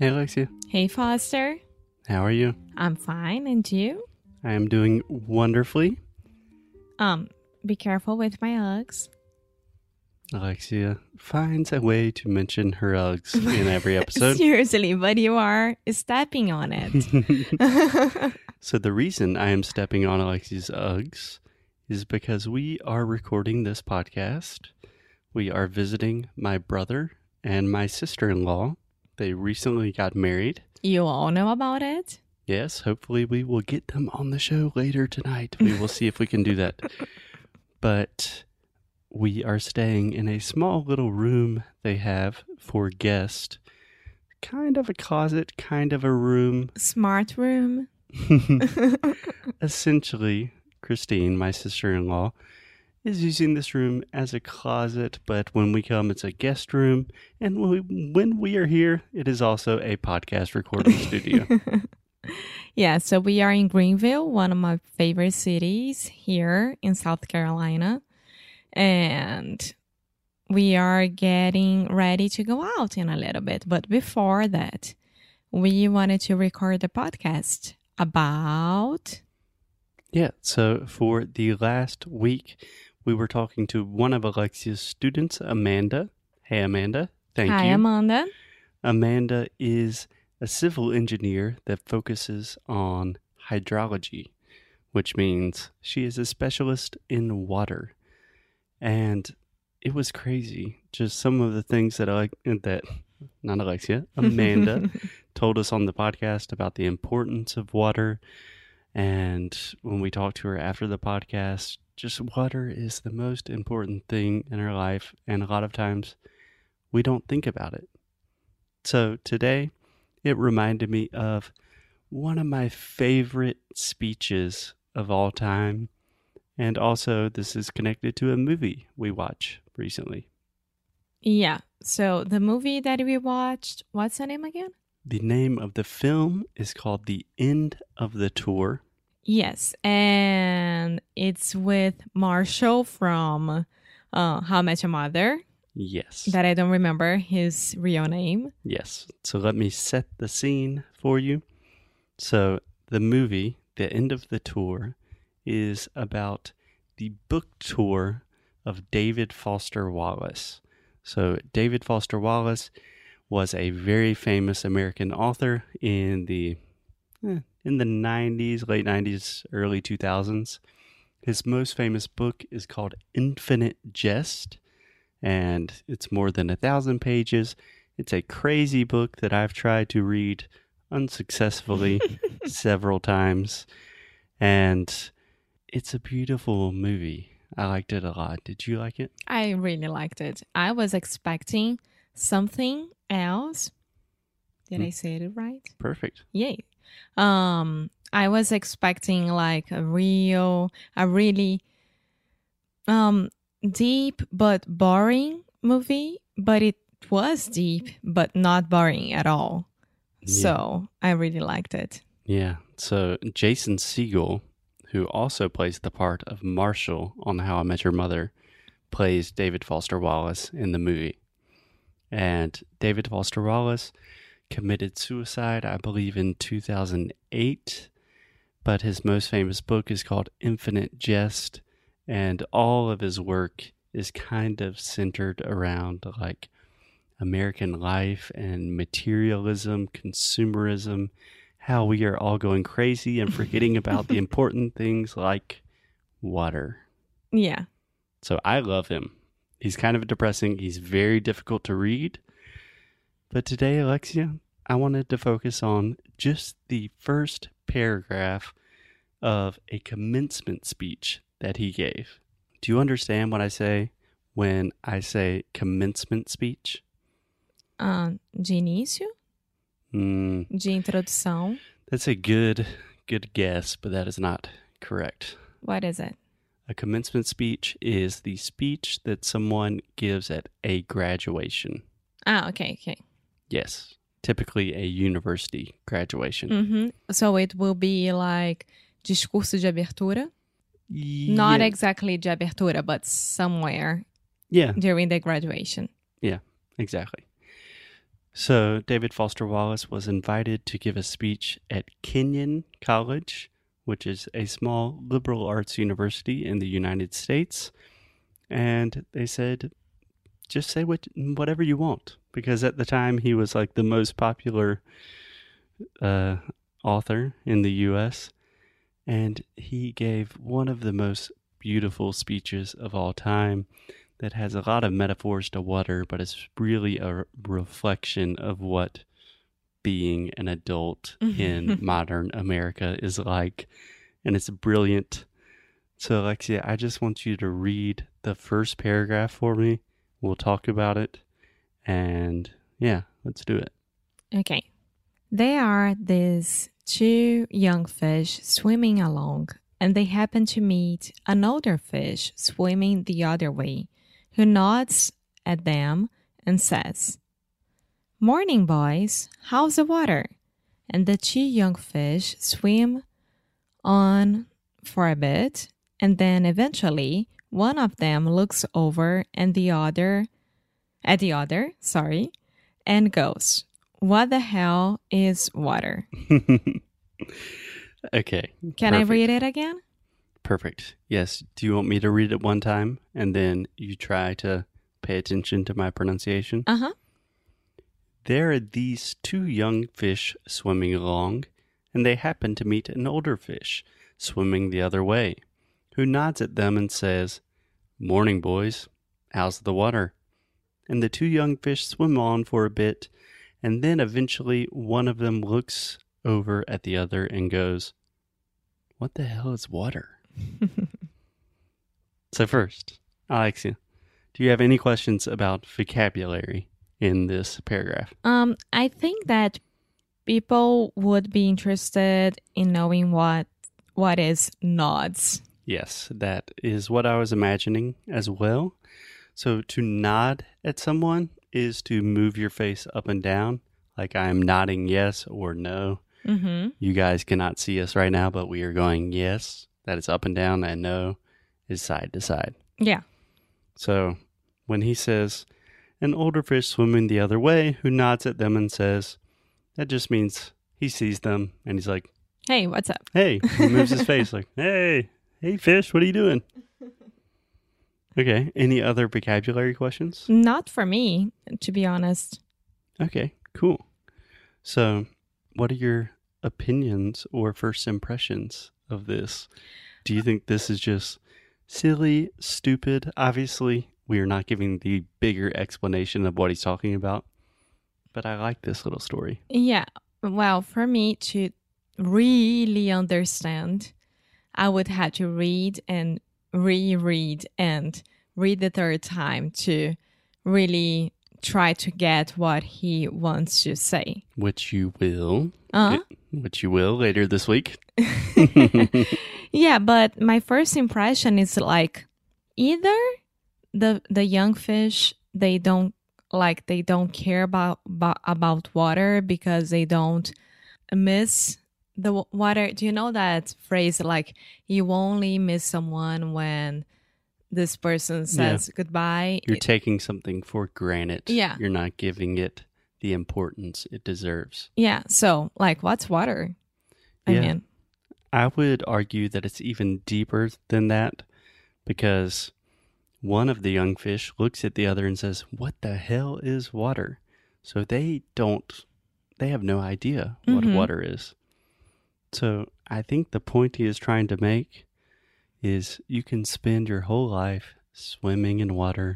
Hey, Alexia. Hey, Foster. How are you? I'm fine, and you? I am doing wonderfully. Be careful with my Uggs. Alexia finds a way to mention her Uggs in every episode. Seriously, but you are stepping on it. So the reason I am stepping on Alexia's Uggs is because we are recording this podcast. We are visiting my brother and my sister-in-law. They recently got married. You all know about it? Yes, hopefully we will get them on the show later tonight. We will see if we can do that. But we are staying in a small little room they have for guests. Kind of a closet, kind of a room. Smart room. Essentially, Christine, my sister-in-law, is using this room as a closet, but when we come, it's a guest room. And when we are here, it is also a podcast recording studio. Yeah, so we are in Greenville, one of my favorite cities here in South Carolina. And we are getting ready to go out in a little bit. But before that, we wanted to record a podcast about... Yeah, so for the last week, we were talking to one of Alexia's students, Amanda. Hey, Amanda. Thank you. Hi, Amanda. Amanda is a civil engineer that focuses on hydrology, which means she is a specialist in water. And it was crazy. Just some of the things that Amanda told us on the podcast about the importance of water. And when we talked to her after the podcast, just water is the most important thing in our life. And a lot of times we don't think about it. So today, it reminded me of one of my favorite speeches of all time. And also, this is connected to a movie we watched recently. Yeah. So the movie that we watched, what's the name again? The name of the film is called The End of the Tour. Yes. And it's with Marshall from How I Met Your Mother. Yes. That I don't remember his real name. Yes. So let me set the scene for you. So the movie, The End of the Tour, is about the book tour of David Foster Wallace. So David Foster Wallace was a very famous American author in the 90s, late 90s, early 2000s. His most famous book is called Infinite Jest, and it's more than 1,000 pages. It's a crazy book that I've tried to read unsuccessfully several times, and it's a beautiful movie. I liked it a lot. Did you like it? I really liked it. I was expecting something else. Did I say it right? Perfect. Yay. I was expecting like a really deep but boring movie, but it was deep but not boring at all. Yeah. So I really liked it. Yeah. So Jason Segel, who also plays the part of Marshall on How I Met Your Mother, plays David Foster Wallace in the movie. And David Foster Wallace committed suicide, I believe, in 2008. But his most famous book is called Infinite Jest. And all of his work is kind of centered around like American life and materialism, consumerism, how we are all going crazy and forgetting about the important things like water. Yeah. So I love him. He's kind of depressing. He's very difficult to read. But today, Alexia, I wanted to focus on just the first paragraph of a commencement speech that he gave. Do you understand what I say when I say commencement speech? De início? De introdução? That's a good guess, but that is not correct. What is it? A commencement speech is the speech that someone gives at a graduation. Okay. Yes, typically a university graduation. Mm-hmm. So it will be like discurso de abertura? Not exactly de abertura, but somewhere during the graduation. Yeah, exactly. So, David Foster Wallace was invited to give a speech at Kenyon College, which is a small liberal arts university in the United States. And they said, just say whatever you want. Because at the time, he was like the most popular author in the U.S. And he gave one of the most beautiful speeches of all time that has a lot of metaphors to water, but it's really a reflection of what being an adult in modern America is like. And it's brilliant. So, Alexia, I just want you to read the first paragraph for me. We'll talk about it. And yeah, let's do it. Okay. There are these two young fish swimming along, and they happen to meet an older fish swimming the other way, who nods at them and says, "Morning, boys. How's the water?" And the two young fish swim on for a bit, and then eventually one of them looks over at the other, and goes, "What the hell is water?" Okay. Can I read it again? Perfect. Yes. Do you want me to read it one time and then you try to pay attention to my pronunciation? Uh-huh. There are these two young fish swimming along, and they happen to meet an older fish swimming the other way, who nods at them and says, "Morning, boys. How's the water?" And the two young fish swim on for a bit, and then eventually one of them looks over at the other and goes, "What the hell is water?" So first, Alexia, do you have any questions about vocabulary in this paragraph? I think that people would be interested in knowing what is nods. Yes, that is what I was imagining as well. So to nod at someone is to move your face up and down, like I'm nodding yes or no. Mm-hmm. You guys cannot see us right now, but we are going yes. That is up and down, and no is side to side. Yeah. So when he says, an older fish swimming the other way, who nods at them and says, that just means he sees them, and he's like, "Hey, what's up?" "Hey," he moves his face like, hey fish, what are you doing? Okay, any other vocabulary questions? Not for me, to be honest. Okay, cool. So what are your opinions or first impressions of this? Do you think this is just silly, stupid? Obviously, we are not giving the bigger explanation of what he's talking about, but I like this little story. Yeah. Well, for me to really understand, I would have to read and reread and read the third time to really try to get what he wants to say. Which you will. Uh-huh. Which you will later this week. Yeah, but my first impression is like either the young fish, they don't care about water because they don't miss the water. Do you know that phrase, like you only miss someone when this person says goodbye? You're taking something for granted. Yeah. You're not giving it the importance it deserves. Yeah. So, like, what's water? I mean, I would argue that it's even deeper than that, because one of the young fish looks at the other and says, "What the hell is water?" So they have no idea what water is. So I think the point he is trying to make is you can spend your whole life swimming in water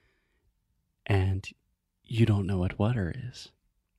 and you don't know what water is.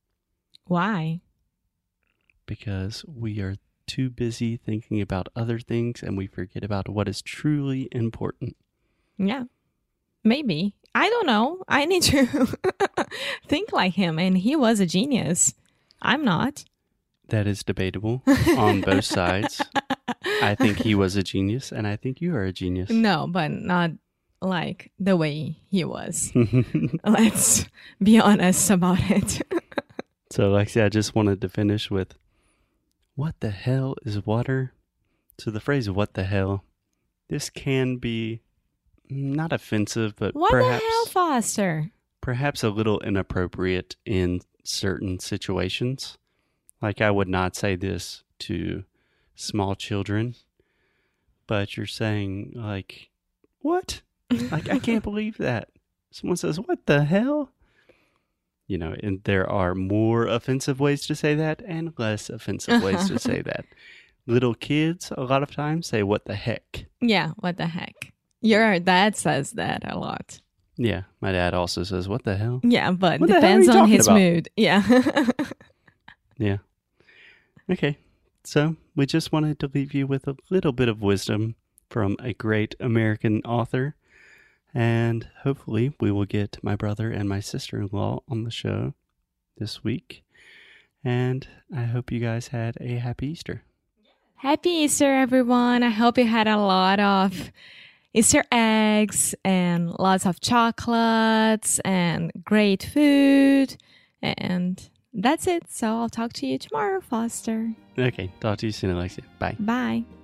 Why? Because we are too busy thinking about other things and we forget about what is truly important. Yeah, maybe. I don't know. I need to think like him, and he was a genius. I'm not. That is debatable on both sides. I think he was a genius, and I think you are a genius. No, but not like the way he was. Let's be honest about it. So, Lexi, I just wanted to finish with, what the hell is water? So the phrase, what the hell, this can be not offensive, but what the hell, Foster? perhaps a little inappropriate in certain situations. Like, I would not say this to small children, but you're saying, like, what? Like, I can't believe that. Someone says, what the hell? You know, and there are more offensive ways to say that and less offensive ways to say that. Little kids, a lot of times, say, what the heck? Yeah, what the heck? Your dad says that a lot. Yeah, my dad also says, what the hell? Yeah, but What the hell are depends you on talking his about? mood. Yeah. Yeah. Okay, so we just wanted to leave you with a little bit of wisdom from a great American author. And hopefully we will get my brother and my sister-in-law on the show this week. And I hope you guys had a happy Easter. Happy Easter, everyone. I hope you had a lot of Easter eggs and lots of chocolates and great food. And that's it. So I'll talk to you tomorrow, Foster. Okay, talk to you soon, Alexia. Bye. Bye.